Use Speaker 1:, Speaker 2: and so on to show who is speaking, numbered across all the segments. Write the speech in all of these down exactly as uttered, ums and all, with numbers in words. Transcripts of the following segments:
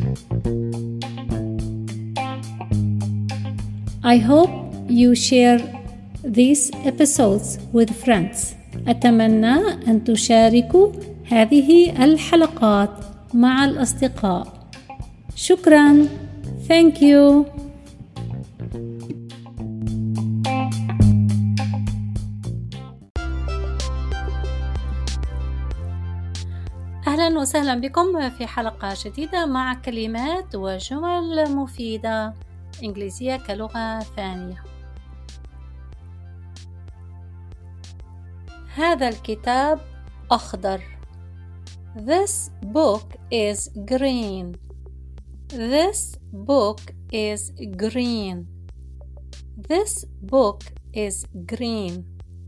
Speaker 1: I hope you share these episodes with friends. أتمنى أن تشاركوا هذه الحلقات مع الأصدقاء. شكراً. Thank you. أهلاً وسهلاً بكم في حلقة جديدة مع كلمات وجمل مفيدة إنجليزية كلغة ثانية. هذا الكتاب أخضر. This book is green. This book is green. This book is green.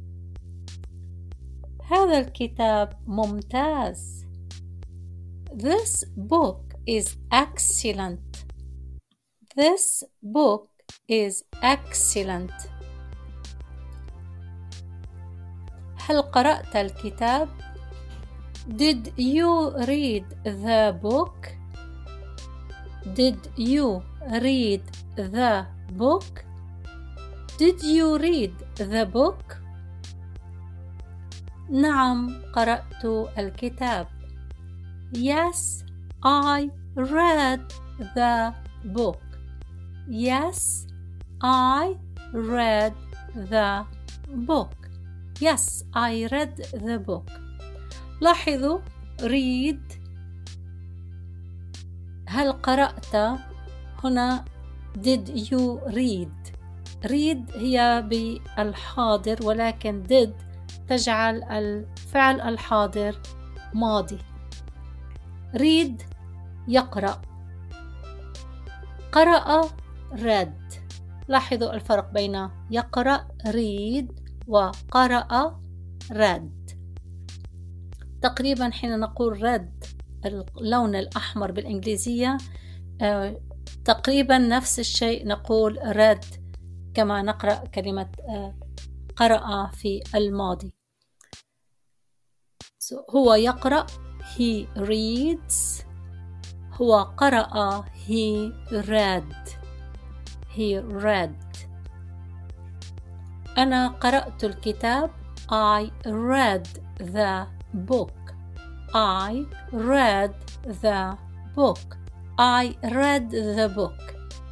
Speaker 1: هذا الكتاب ممتاز. This book is excellent. This book is excellent. هل قرأت الكتاب؟ Did you read the book? Did you read the book? Did you read the book? نعم، قرأت الكتاب. Yes, I read the book. Yes, I read the book. Yes, I read the book. لاحظوا read. هل قرأت؟ هنا did you read. read هي بالحاضر، ولكن did تجعل الفعل الحاضر ماضي. read يقرأ. قرأ read. لاحظوا الفرق بين يقرأ read وقرأ read. تقريبا حين نقول red اللون الأحمر بالإنجليزية آه، تقريبا نفس الشيء نقول red كما نقرأ كلمة آه، قرأ في الماضي. so, هو يقرأ he reads. هو قرأ he read. he read. أنا قرأت الكتاب. I read the book. I read the book. I read the book.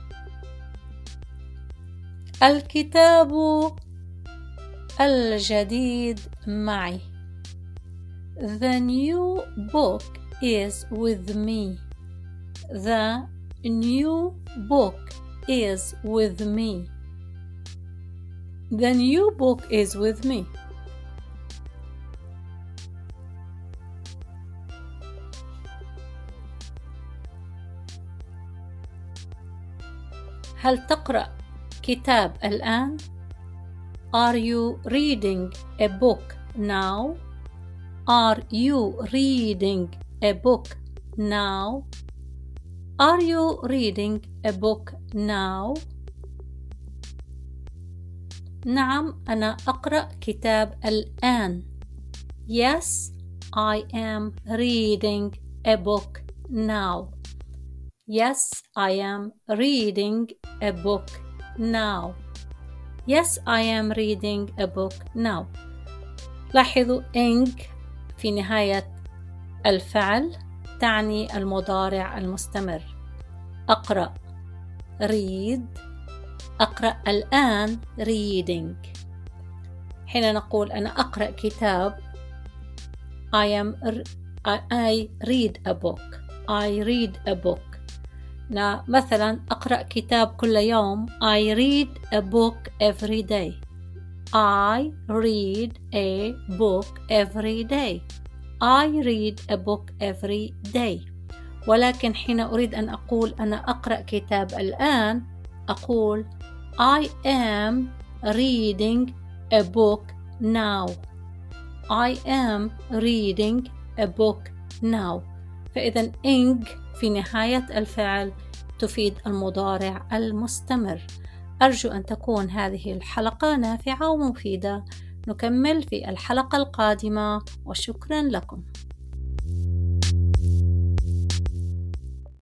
Speaker 1: الكتاب الجديد معي. The new book is with me. The new book is with me. The new book is with me. هل تقرأ كتاب الآن؟ Are you reading a book now? Are you reading a book now? Are you reading a book now? نعم، أنا أقرأ كتاب الآن. Yes, I am reading a book now. Yes, I am reading a book now. Yes, I am reading a book now. لاحظوا ing في نهاية الفعل تعني المضارع المستمر. أقرأ read. أقرأ الآن reading. حين نقول أنا أقرأ كتاب I am I read a book. I read a book. مثلا أقرأ كتاب كل يوم. I read a book every day. I read a book every day. I read a book every day. ولكن حين أريد أن أقول أنا أقرأ كتاب الآن أقول I am reading a book now. I am reading a book now. فإذا ing في نهاية الفعل تفيد المضارع المستمر. أرجو أن تكون هذه الحلقة نافعة ومفيدة. نكمل في الحلقة القادمة وشكرا لكم.